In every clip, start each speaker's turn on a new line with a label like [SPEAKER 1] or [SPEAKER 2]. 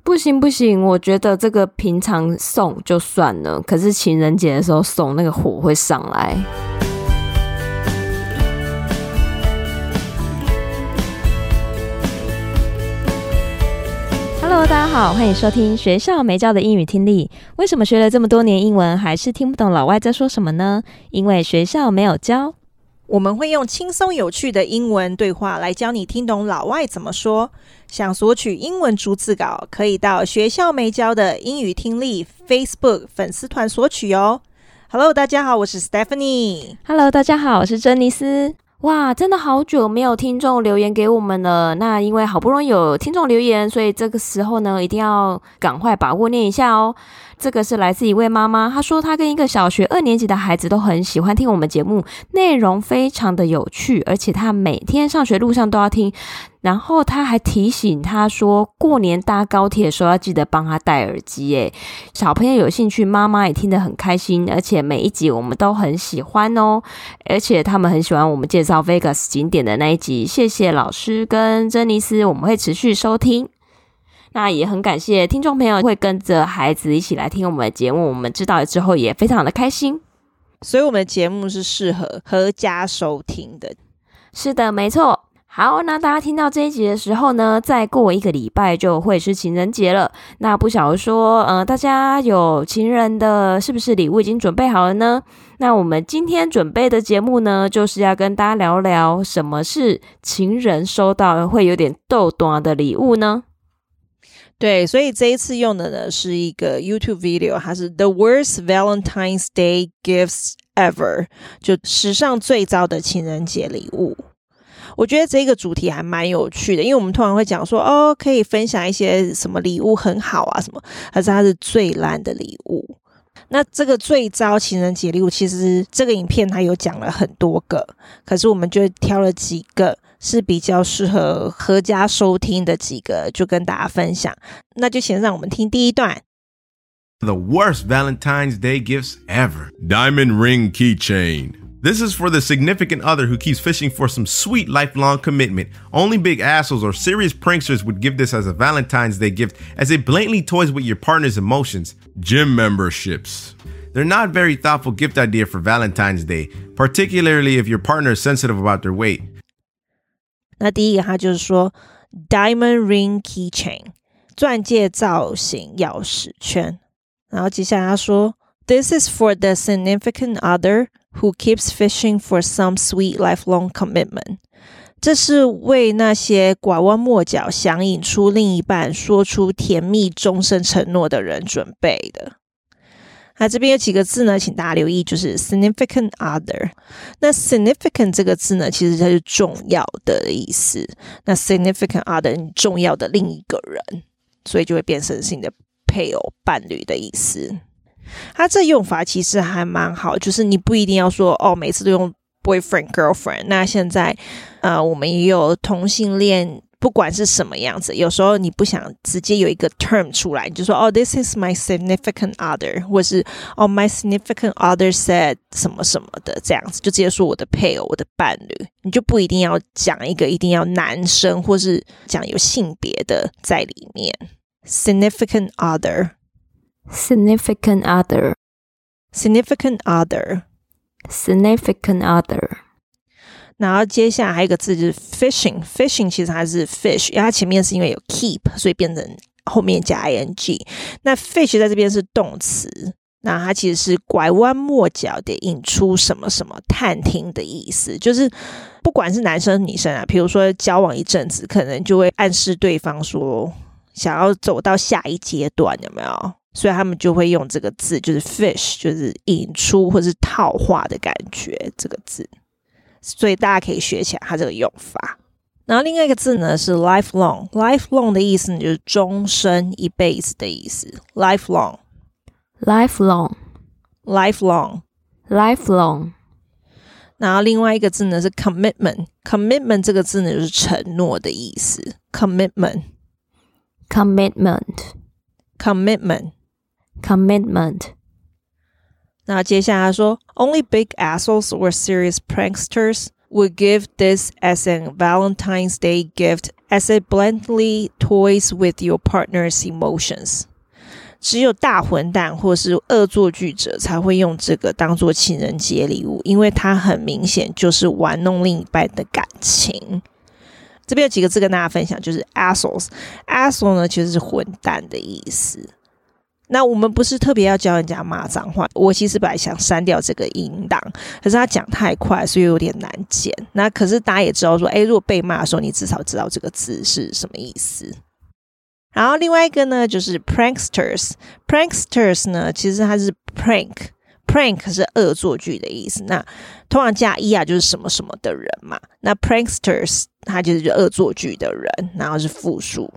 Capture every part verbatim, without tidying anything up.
[SPEAKER 1] 不行不行，我覺得這個平常送就算了，可是情人節的時候送，那個火會上來。Hello， 大家好，歡迎收聽學校沒教的英語聽力。為什麼學了這麼多年英文，還是聽不懂老外在說什麼呢？因為學校沒有教。
[SPEAKER 2] 我們會用輕鬆有趣的英文對話來教你聽懂老外怎麼說。想索取英文逐字稿，可以到學校沒教的英語聽力 Facebook 粉絲團索取哦。Hello， 大家好，我是 Stephanie。Hello，
[SPEAKER 1] 大家好，我是珍妮斯。哇，真的好久沒有聽眾留言給我們了。那因為好不容易有聽眾留言，所以這個時候呢，一定要趕快把握念一下哦。這個是來自一位媽媽，她說她跟一個小學二年級的孩子都很喜歡聽我們節目，內容非常的有趣，而且她每天上學路上都要聽。然後她還提醒她說，過年搭高鐵的時候要記得幫她戴耳機耶。小朋友有興趣，媽媽也聽得很開心，而且每一集我們都很喜歡哦。而且他們很喜歡我們介紹 Vegas 景點的那一集，謝謝老師跟珍妮斯，我們會持續收聽。那也很感謝聽眾朋友會跟着孩子一起來聽我們的節目，我們知道了之後也非常的開心。
[SPEAKER 2] 所以我們的節目是適合合家收聽的。
[SPEAKER 1] 是的，沒錯。好，那大家聽到這一集的時候呢，再過一個禮拜就會是情人節了。那不曉得說，呃，大家有情人的是不是禮物已經準備好了呢？那我們今天準備的節目呢，就是要跟大家聊聊什麼是情人收到會有點逗短的禮物呢？
[SPEAKER 2] 對，所以這一次用的呢是一個 YouTube video， 它是 The Worst Valentine's Day Gifts Ever， 就史上最糟的情人節禮物。我覺得這個主題還蠻有趣的，因為我們通常會講說，哦，可以分享一些什麼禮物很好啊什麼，可是它是最爛的禮物。那這個最糟情人節禮物，其實這個影片它有講了很多個，可是我們就挑了幾個是比較適合合家收聽的幾個，就跟大家分享。那就先讓我們聽第一段。
[SPEAKER 3] The worst Valentine's Day gifts ever. Diamond ring keychain. This is for the significant other who keeps fishing for some sweet lifelong commitment. Only big assholes or serious pranksters would give this as a Valentine's Day gift, as it blatantly toys with your partner's emotions. Gym memberships. They're not very thoughtful gift idea for Valentine's Day, particularly if your partner is sensitive about their weight.
[SPEAKER 2] 那第一個他就是說 Diamond ring keychain， 鑽戒造型鑰匙圈。然後接下來他說 This is for the significant other who keeps fishing for some sweet lifelong commitment. 這是為那些拐彎抹角想引出另一半說出甜蜜終身承諾的人準備的。那這邊有幾個字呢，請大家留意，就是 significant other。那 significant 這個字呢，其實它是重要的意思。那 significant other 你重要的另一個人，所以就會變成是你的配偶、伴侶的意思。它這用法其實還蠻好，就是你不一定要說哦，每次都用 boyfriend girlfriend。那現在呃，我們也有同性戀，不管是什麼樣子，有時候你不想直接有一個 term 出來，你就說哦 this is my significant other， 或是哦 my significant other said 什麼什麼的，這樣子就直接說我的配偶、我的伴侶，你就不一定要講一個一定要男生或是講有性別的在裡面。significant other
[SPEAKER 1] Significant other
[SPEAKER 2] Significant other
[SPEAKER 1] Significant other
[SPEAKER 2] 然後接下來還有一個字就是 fishing Fishing 其實它是 fish， 因為它前面是因為有 keep， 所以變成後面加 ing。 那 fish 在這邊是動詞，那它其實是拐彎抹角的引出什麼什麼探聽的意思，就是不管是男生女生啊，比如說交往一陣子，可能就會暗示對方說想要走到下一階段，有沒有？所以他們就會用這個字，就是 fish， 就是引出或是套話的感覺，這個字。所以大家可以學起來它這個用法。然後另外一個字呢是 lifelong， lifelong 的意思呢就是終身一輩子的意思。lifelong
[SPEAKER 1] lifelong
[SPEAKER 2] lifelong
[SPEAKER 1] lifelong
[SPEAKER 2] 然後另外一個字呢是 commitment， commitment 這個字呢就是承諾的意思。commitment
[SPEAKER 1] commitment
[SPEAKER 2] commitment
[SPEAKER 1] commitment
[SPEAKER 2] 那接下來說 Only big assholes or serious pranksters would give this as a Valentine's Day gift as it bluntly toys with your partner's emotions. 只有大混蛋或是惡作劇者才會用這個當做情人節禮物，因為它很明顯就是玩弄另一半的感情。這邊有幾個字跟大家分享，就是 assholes。asshole 呢其實是混蛋的意思。那我們不是特別要教人家罵髒話，我其實本來想刪掉這個音檔，可是他講太快，所以有點難剪。那可是大家也知道說，誒，如果被罵的時候，你至少知道這個字是什麼意思。然後另外一個呢，就是 pranksters。pranksters 呢，其實它是 prank。prank 是惡作劇的意思。那通常加 er 就是什麼什麼的人嘛。那 pranksters 它就是惡作劇的人，然後是複數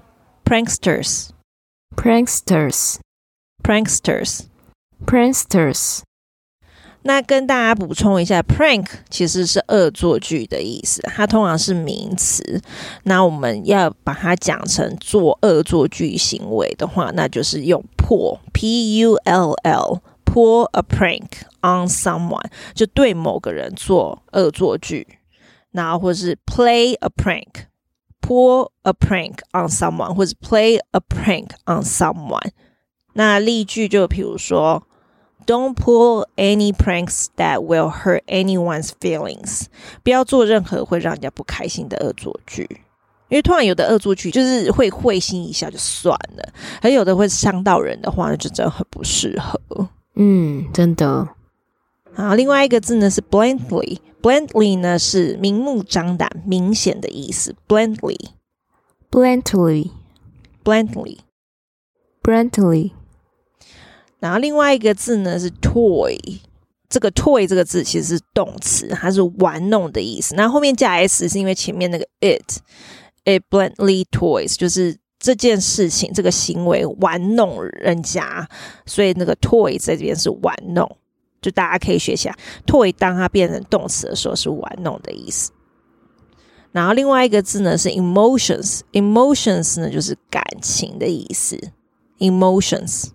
[SPEAKER 2] pranksters。pranksters。pranksters。pranksters。那跟大家補充一下 prank 其實是惡作劇的意思，它通常是名詞。那我們要把它講成做惡作劇行為的話，那就是用 pull P U L L pull a prank on someone， 就對某個人做惡作劇。然後或是 play a prank pull a prank on someone， 或是 play a prank on someone。那例句就比如說Don't pull any pranks that will hurt anyone's feelings。 不要做任何會讓人家不開心的惡作劇，因為通常有的惡作劇就是會會心一笑就算了，而有的會傷到人的話，那就真的很不適合。
[SPEAKER 1] 嗯，真的。
[SPEAKER 2] 好，另外一個字呢是 bluntly。bluntly 呢是明目張膽、明顯的意思。bluntly。bluntly。bluntly。bluntly。然後另外一個字呢是 toy， 這個 toy 這個字其實是動詞，它是玩弄的意思。那後面加 s 是因為前面那個 it it bluntly toys 就是這件事情這個行為玩弄人家，所以那個 toy 在這邊是玩弄，就大家可以學起來 toy 當它變成動詞的時候是玩弄的意思。然後另外一個字呢是 emotions emotions 呢就是感情的意思。emotions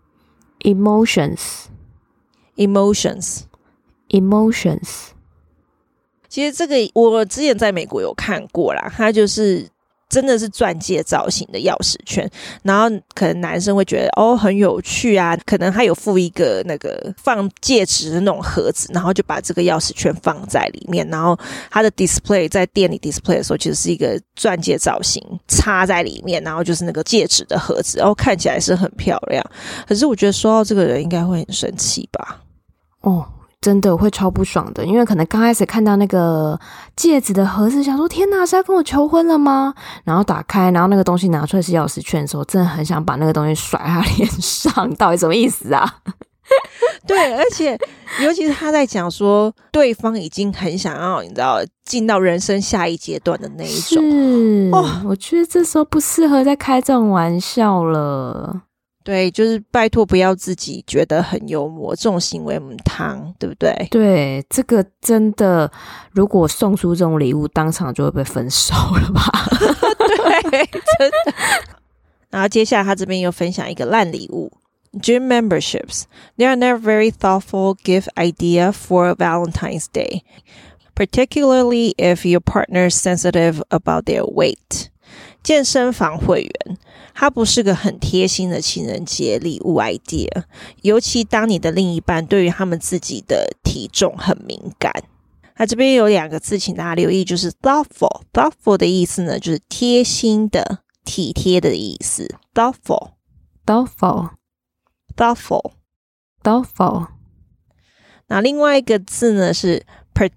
[SPEAKER 1] Emotions,
[SPEAKER 2] emotions,
[SPEAKER 1] emotions。
[SPEAKER 2] 其實這個我之前在美國有看過啦，它就是真的是鑽戒造型的鑰匙圈，然後可能男生會覺得哦很有趣啊，可能他有附一個那個放戒指的那種盒子，然後就把這個鑰匙圈放在裡面，然後他的 display 在店裡 display 的時候其實是一個鑽戒造型插在裡面，然後就是那個戒指的盒子，然後看起來是很漂亮。可是我覺得收到這個人應該會很生氣吧。
[SPEAKER 1] 哦，真的會超不爽的，因為可能剛開始看到那個戒指的盒子，想說天哪，是要跟我求婚了嗎？然後打開，然後那個東西拿出來是鑰匙圈的時候，真的很想把那個東西甩他臉上，到底什麼意思啊？
[SPEAKER 2] 對，而且尤其是他在講說對方已經很想要你知道進到人生下一階段的那一種，
[SPEAKER 1] 是、哦、我覺得這時候不適合再開這種玩笑了。
[SPEAKER 2] 對，就是拜託不要自己覺得很幽默，這種行為母湯，對不對？
[SPEAKER 1] 對，這個真的，如果送出這種禮物，當場就會被分手了吧？
[SPEAKER 2] 對，真的。然後接下來他這邊又分享一個爛禮物 ，Gym memberships. They are never very thoughtful gift idea for Valentine's Day, particularly if your partner is sensitive about their weight. 健身房會員，它不是個很貼心的情人節禮物 idea， 尤其當你的另一半對於他們自己的體重很敏感。那這邊有兩個字，請大家留意，就是 thoughtful。thoughtful 的意思呢，就是貼心的、體貼的意思。thoughtful
[SPEAKER 1] thoughtful
[SPEAKER 2] thoughtful
[SPEAKER 1] thoughtful。
[SPEAKER 2] 那另外一個字呢是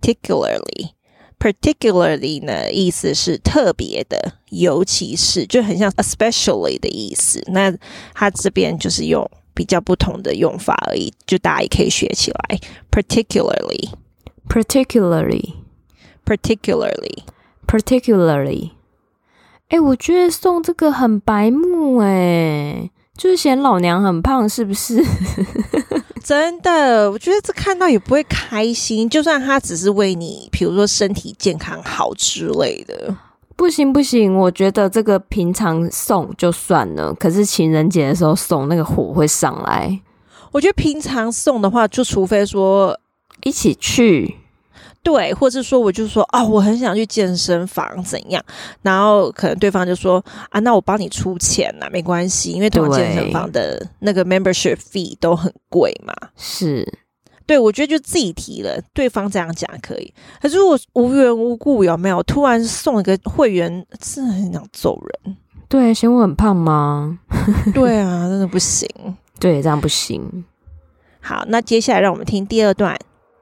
[SPEAKER 2] particularly。particularly 呢意思是特別的，尤其是，就很像 especially 的意思。那它這邊就是用比較不同的用法而已，就大家也可以學起來。particularly
[SPEAKER 1] particularly
[SPEAKER 2] particularly
[SPEAKER 1] particularly。欸，我覺得送這個很白目欸，就是嫌老娘很胖是不是？
[SPEAKER 2] 真的，我覺得這看到也不會開心，就算他只是為你比如說身體健康好之類的。
[SPEAKER 1] 不行不行，我覺得這個平常送就算了，可是情人節的時候送，那個火會上來。
[SPEAKER 2] 我覺得平常送的話，就除非說
[SPEAKER 1] 一起去，
[SPEAKER 2] 對，或是說我就說啊、哦，我很想去健身房怎樣，然後可能對方就說啊，那我幫你出錢啦，沒關係，因為通常健身房的那個 membership fee 都很貴嘛。
[SPEAKER 1] 是，
[SPEAKER 2] 對，我覺得就自己提了，對方這樣講可以。可是如果無緣無故有沒有突然送一個會員，真的很想揍人。
[SPEAKER 1] 對，嫌我很胖嗎？
[SPEAKER 2] 對啊，真的不行。
[SPEAKER 1] 對，這樣不行。
[SPEAKER 2] 好，那接下來讓我們聽第二段。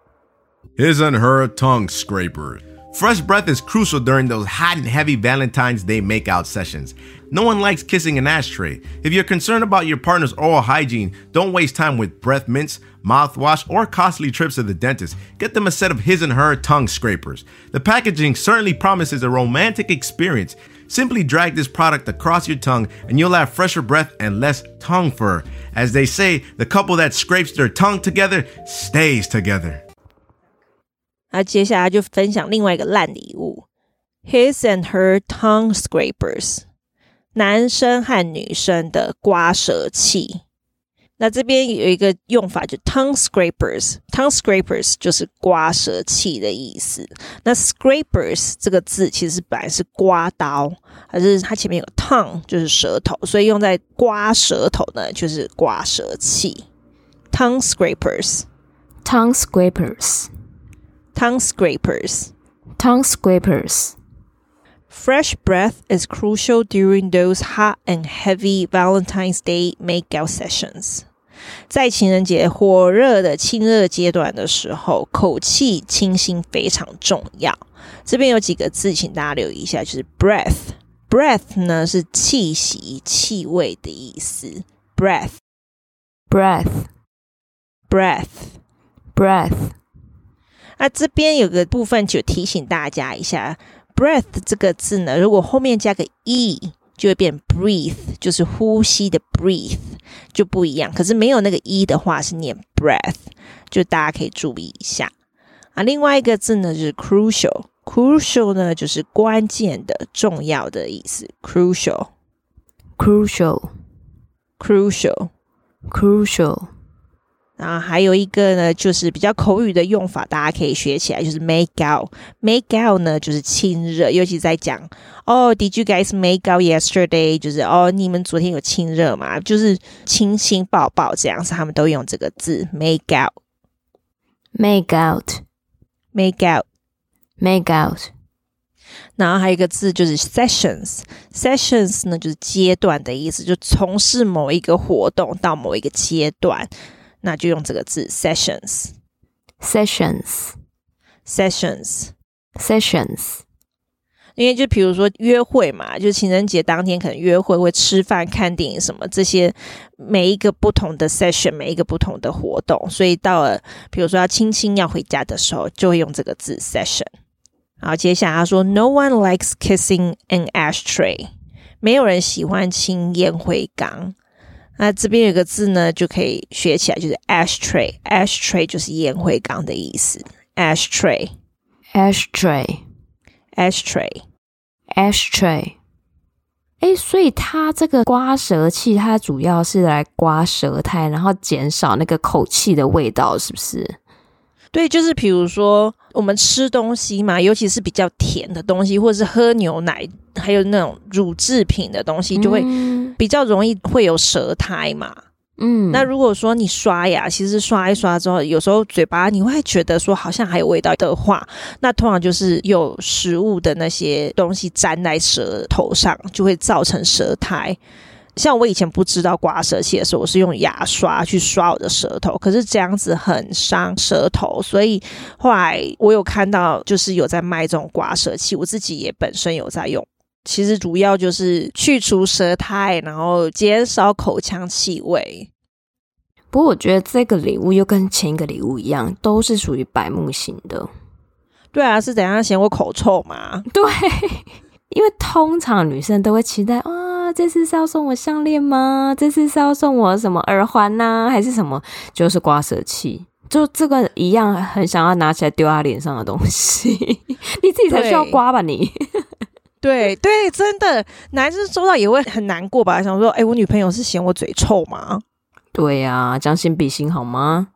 [SPEAKER 3] His and her tongue scrapers. Fresh breath is crucial during those hot and heavy Valentine's Day makeout sessions. No one likes kissing an ashtray. If you're concerned about your partner's oral hygiene, don't waste time with breath mints, mouthwash, or costly trips to the dentist. Get them a set of his and her tongue scrapers. The packaging certainly promises a romantic experience. Simply drag this product across your tongue and you'll have fresher breath and less tongue fur. As they say, the couple that scrapes their tongue together stays together.
[SPEAKER 2] 那接下來就分享另外一個爛禮物 His and her tongue scrapers 男生和女生的刮舌器。那這邊有一個用法就 tongue scrapers tongue scrapers 就是刮舌器的意思。那 scrapers 這個字其實本來是刮刀，還是它前面有 tongue 就是舌頭，所以用在刮舌頭呢就是刮舌器。 tongue scrapers
[SPEAKER 1] tongue scrapers
[SPEAKER 2] tongue scrapers
[SPEAKER 1] tongue scrapers
[SPEAKER 2] Fresh breath is crucial during those hot and heavy Valentine's Day makeout sessions. 在情人節火熱的親熱階段的時候，口氣清新非常重要。這邊有幾個字請大家留意一下，就是 breath breath 呢是氣息氣味的意思。 breath
[SPEAKER 1] breath
[SPEAKER 2] breath
[SPEAKER 1] breath
[SPEAKER 2] 那這邊有個部分就提醒大家一下，breath 這個字呢，如果後面加個 e 就會變 breathe， 就是呼吸的 breathe 就不一樣。可是沒有那個 e 的話是念 breath， 就大家可以注意一下啊。另外一個字呢就是 crucial， crucial 呢就是關鍵的、重要的意思。crucial
[SPEAKER 1] crucial
[SPEAKER 2] crucial
[SPEAKER 1] crucial
[SPEAKER 2] 然後還有一個呢，就是比較口語的用法，大家可以學起來，就是 make out。make out 呢，就是親熱，尤其在講哦、oh, ，Did you guys make out yesterday？ 就是哦，oh, 你們昨天有親熱嗎？就是親親抱抱這樣子，他們都用這個字 make out。make
[SPEAKER 1] out，make
[SPEAKER 2] out，make
[SPEAKER 1] out。
[SPEAKER 2] 然後還有一個字就是 sessions，sessions 呢就是階段的意思，就從事某一個活動到某一個階段。那就用這個字 sessions
[SPEAKER 1] sessions
[SPEAKER 2] sessions
[SPEAKER 1] sessions
[SPEAKER 2] 因為就比如說約會嘛，就情人節當天可能約會會吃飯看電影什麼，這些每一個不同的 session 每一個不同的活動，所以到了比如說要親親要回家的時候就會用這個字 session。 然後接下來他說 No one likes kissing an ashtray， 沒有人喜歡親煙灰缸。那這邊有個字呢就可以學起來，就是 ashtray ashtray 就是煙灰缸的意思。 ashtray
[SPEAKER 1] ashtray
[SPEAKER 2] ashtray
[SPEAKER 1] ashtray 誒，所以它這個刮舌器它主要是來刮舌苔，然後減少那個口氣的味道，是不是？
[SPEAKER 2] 對，就是比如說我們吃東西嘛，尤其是比較甜的東西，或者是喝牛奶還有那種乳製品的東西，就會比較容易會有舌苔嘛。嗯，那如果說你刷牙，其實刷一刷之後，有時候嘴巴你會覺得說好像還有味道的話，那通常就是有食物的那些東西粘在舌頭上，就會造成舌苔。像我以前不知道刮舌器的時候，我是用牙刷去刷我的舌頭，可是這樣子很傷舌頭，所以後來我有看到就是有在賣這種刮舌器，我自己也本身有在用。其實主要就是去除舌苔，然後減少口腔氣味。
[SPEAKER 1] 不過我覺得這個禮物又跟前一個禮物一樣，都是屬於白目型的。
[SPEAKER 2] 對啊，是怎樣嫌我口臭嗎？
[SPEAKER 1] 對，因為通常女生都會期待啊，這次是要送我項鏈嗎？這次是要送我什麼耳環啊，還是什麼？就是刮舌器，就這個一樣，很想要拿起來丟他臉上的東西。你自己才需要刮吧你？
[SPEAKER 2] 對對，真的，男生收到也會很難過吧？想說，哎，我女朋友是嫌我嘴臭嗎？
[SPEAKER 4] 對呀、啊，將心比心好嗎？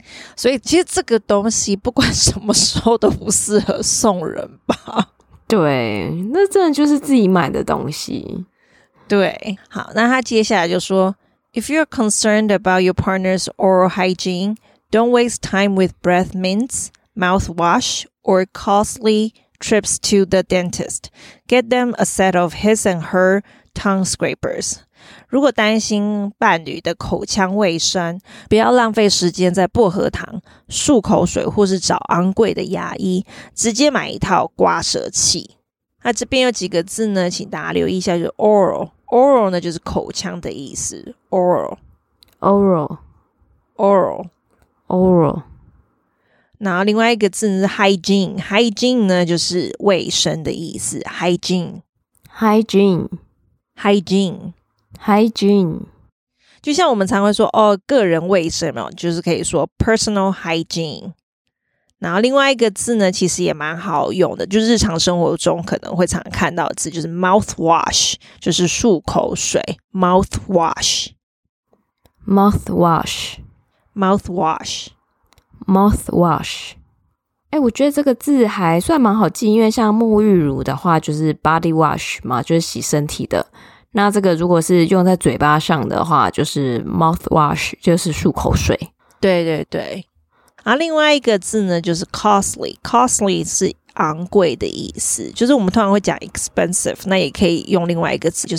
[SPEAKER 2] 所以其實這個東西不管什麼時候都不適合送人吧。
[SPEAKER 1] 對，那真的就是自己買的東西。
[SPEAKER 2] 對，好，那他接下來就說 If you're concerned about your partner's oral hygiene, don't waste time with breath mints, mouthwash, or costly trips to the dentist. Get them a set of his and her tongue scrapers. 如果擔心伴侶的口腔衛生，不要浪費時間在薄荷糖、漱口水或是找昂貴的牙醫，直接買一套刮舌器。那這邊有幾個字呢，請大家留意一下，就是 oral。oral 呢就是口腔的意思 ，oral
[SPEAKER 1] oral
[SPEAKER 2] oral
[SPEAKER 1] oral。
[SPEAKER 2] 然後另外一個字是 hygiene，hygiene 呢就是衛生的意思 ，hygiene
[SPEAKER 1] hygiene
[SPEAKER 2] hygiene
[SPEAKER 1] hygiene。
[SPEAKER 2] 就像我們常會說哦，個人衛生嘛，就是可以說 personal hygiene。然後另外一個字呢，其實也蠻好用的，就是日常生活中可能會常看到的字，就是 mouthwash， 就是漱口水 mouthwash
[SPEAKER 1] mouthwash
[SPEAKER 2] mouthwash
[SPEAKER 1] mouthwash。哎，我覺得這個字還算蠻好記，因為像沐浴乳的話就是 body wash 嘛，就是洗身體的。那這個如果是用在嘴巴上的話，就是 mouthwash， 就是漱口水。
[SPEAKER 2] 對對對。然後另外一個字呢，就是 costly。costly 是昂貴的意思，就是我們通常會講 expensive， 那也可以用另外一個字，就是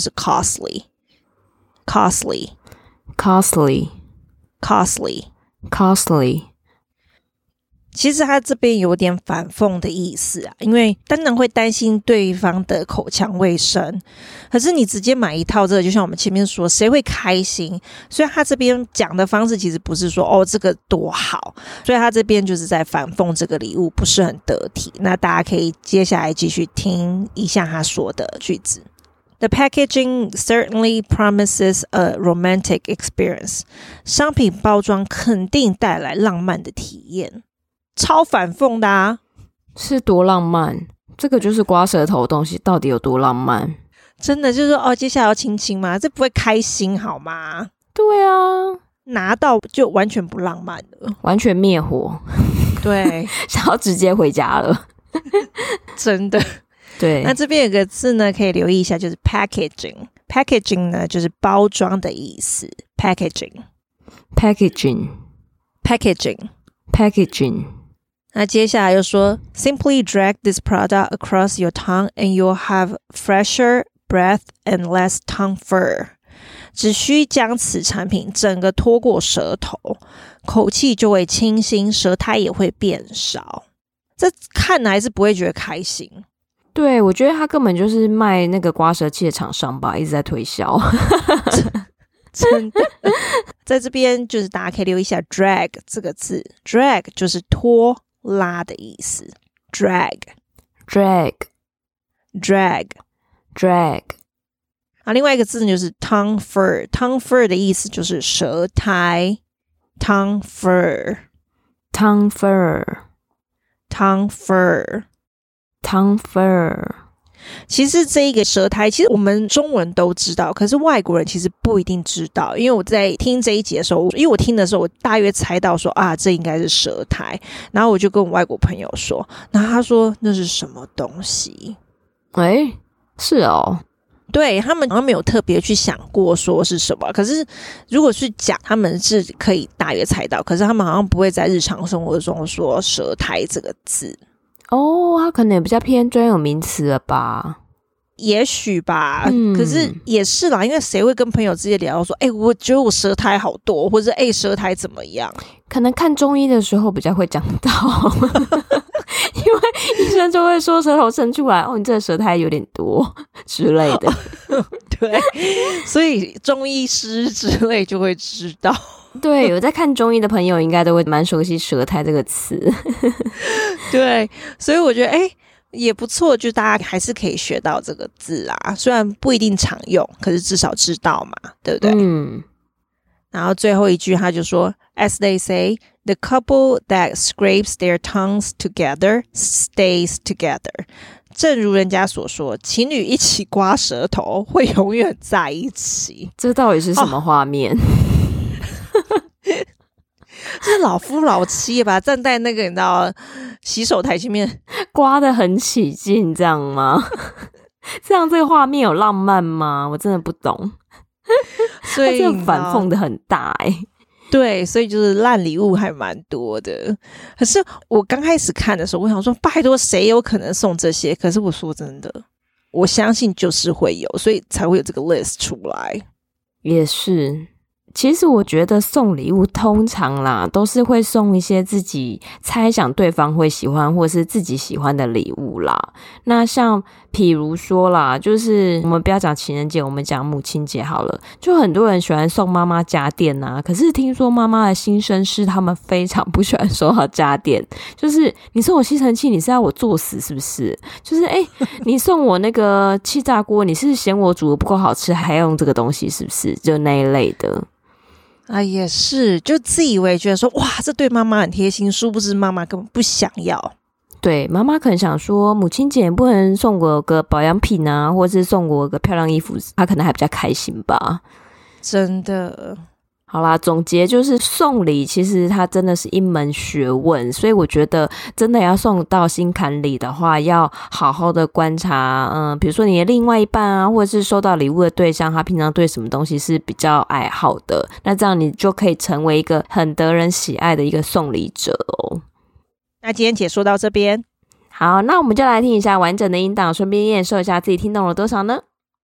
[SPEAKER 2] costly。costly
[SPEAKER 1] costly
[SPEAKER 2] costly
[SPEAKER 1] costly。
[SPEAKER 2] 其實他這邊有點反諷的意思啊，因為當然會擔心對方的口腔衛生，可是你直接買一套這個，就像我們前面說，誰會開心？所以他這邊講的方式其實不是說哦這個多好，所以他這邊就是在反諷這個禮物不是很得體。那大家可以接下來繼續聽一下他說的句子。The packaging certainly promises a romantic experience. 商品包裝肯定帶來浪漫的體驗。超反諷的啊，
[SPEAKER 1] 是多浪漫？這個就是刮舌頭的東西，到底有多浪漫？
[SPEAKER 2] 真的就是說哦，接下來要親親嗎？這不會開心好嗎？
[SPEAKER 1] 對啊，
[SPEAKER 2] 拿到就完全不浪漫了，
[SPEAKER 1] 完全滅火。
[SPEAKER 2] 對，
[SPEAKER 1] 想要直接回家了，
[SPEAKER 2] 真的。
[SPEAKER 1] 對，
[SPEAKER 2] 那這邊有個字呢，可以留意一下，就是 packaging。packaging 呢，就是包裝的意思。
[SPEAKER 1] packaging，packaging，packaging。
[SPEAKER 2] 那接下來又說 Simply drag this product across your tongue and you'll have fresher breath and less tongue fur. 只需將此產品整個拖過舌頭，口氣就會清新，舌苔也會變少。這看來是不會覺得開心。
[SPEAKER 1] 對，我覺得他根本就是賣那個刮舌器的廠商吧，一直在推銷。
[SPEAKER 2] 真的，在這邊就是大家可以留意一下 drag 這個字 drag 就是拖拉的意思 drag
[SPEAKER 1] drag
[SPEAKER 2] drag
[SPEAKER 1] drag。
[SPEAKER 2] 啊，另外一個字就是 tongue fur tongue fur 的意思就是舌苔 tongue fur
[SPEAKER 1] tongue fur
[SPEAKER 2] tongue fur
[SPEAKER 1] tongue fur。
[SPEAKER 2] 其實這一個舌苔，其實我們中文都知道，可是外國人其實不一定知道。因為我在聽這一集的時候，因為我聽的時候，我大約猜到說啊，這應該是舌苔。然後我就跟我外國朋友說，然後他說那是什麼東西？
[SPEAKER 1] 誒，是哦，
[SPEAKER 2] 對，他們好像沒有特別去想過說是什麼。可是如果去講，他們是可以大約猜到，可是他們好像不會在日常生活中說舌苔這個字。
[SPEAKER 1] 哦，他可能也比較偏專有名詞了吧？
[SPEAKER 2] 也許吧、
[SPEAKER 1] 嗯，
[SPEAKER 2] 可是也是啦，因為誰會跟朋友直接聊說，哎、欸，我覺得我舌苔好多，或者哎、欸，舌苔怎麼樣？
[SPEAKER 1] 可能看中醫的時候比較會講到，因為醫生就會說舌頭伸出來，哦，你這個舌苔有點多之類的。
[SPEAKER 2] 對，所以中醫師之類就會知道。
[SPEAKER 1] 對，有在看中醫的朋友應該都會蠻熟悉舌苔這個詞。
[SPEAKER 2] 對，所以我覺得哎、欸、也不錯，就大家還是可以學到這個字啊，雖然不一定常用，可是至少知道嘛，對不對？嗯。然後最後一句他就說 As they say, the couple that scrapes their tongues together stays together. 正如人家所說，情侶一起刮舌頭會永遠在一起。
[SPEAKER 1] 這到底是什麼畫面？
[SPEAKER 2] 就是老夫老妻吧，站在那個你知道洗手台前面
[SPEAKER 1] 刮得很起勁，這樣嗎？這樣這個畫面有浪漫嗎？我真的不懂。所以這個反諷的很大哎、欸。
[SPEAKER 2] 對，所以就是爛禮物還蠻多的。可是我剛開始看的時候，我想說，拜託，誰有可能送這些？可是我說真的，我相信就是會有，所以才會有這個 list 出來。
[SPEAKER 1] 也是。其實我覺得送禮物通常啦，都是會送一些自己猜想對方會喜歡或是自己喜歡的禮物啦。那像譬如說啦，就是我們不要講情人節，我們講母親節好了。就很多人喜歡送媽媽家電啊，可是聽說媽媽的心聲是他們非常不喜歡收到家電，就是你送我吸塵器，你是要我作死是不是？就是哎、欸，你送我那個氣炸鍋，你是嫌我煮的不夠好吃，還要用這個東西是不是？就那一類的。
[SPEAKER 2] 啊，也是，就自以為覺得說，哇，這對媽媽很貼心，殊不知媽媽根本不想要。
[SPEAKER 1] 對，媽媽可能想說，母親節也不能送我個保養品啊，或是送我個漂亮衣服，她可能還比較開心吧。
[SPEAKER 2] 真的。
[SPEAKER 1] 好啦，總結就是送禮其實它真的是一門學問，所以我覺得真的要送到心坎裡的話，要好好的觀察，嗯，比如說你的另外一半啊，或者是收到禮物的對象，他平常對什麼東西是比較愛好的，那這樣你就可以成為一個很得人喜愛的一個送禮者哦。
[SPEAKER 2] 那今天解說到這邊，
[SPEAKER 1] 好，那我們就來聽一下完整的音檔，順便驗收一下自己聽懂了多少呢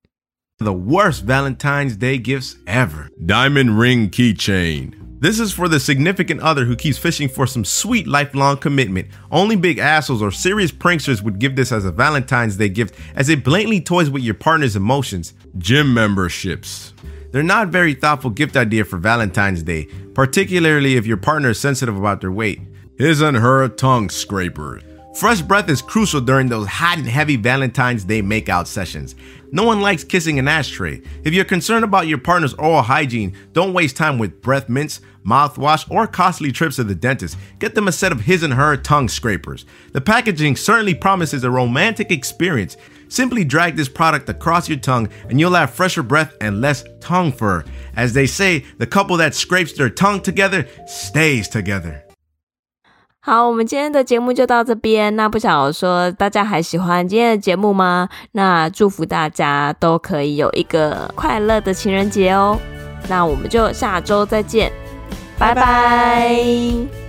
[SPEAKER 3] ？The worst Valentine's Day gifts ever. Diamond ring keychain. This is for the significant other who keeps fishing for some sweet lifelong commitment. Only big assholes or serious pranksters would give this as a Valentine's Day gift, as it blatantly toys with your partner's emotions. Gym memberships. They're not a very thoughtful gift idea for Valentine's Day, particularly if your partner is sensitive about their weight. His and her tongue scrapers. Fresh breath is crucial during those hot and heavy Valentine's Day makeout sessions. No one likes kissing an ashtray. If you're concerned about your partner's oral hygiene, don't waste time with breath mints, mouthwash, or costly trips to the dentist. Get them a set of his and her tongue scrapers. The packaging certainly promises a romantic experience. Simply drag this product across your tongue and you'll have fresher breath and less tongue fur. As they say, the couple that scrapes their tongue together stays together.
[SPEAKER 1] 好，我們今天的節目就到這邊。那不想說大家還喜歡今天的節目嗎？那祝福大家都可以有一個快樂的情人節哦。那我們就下周再見，拜拜。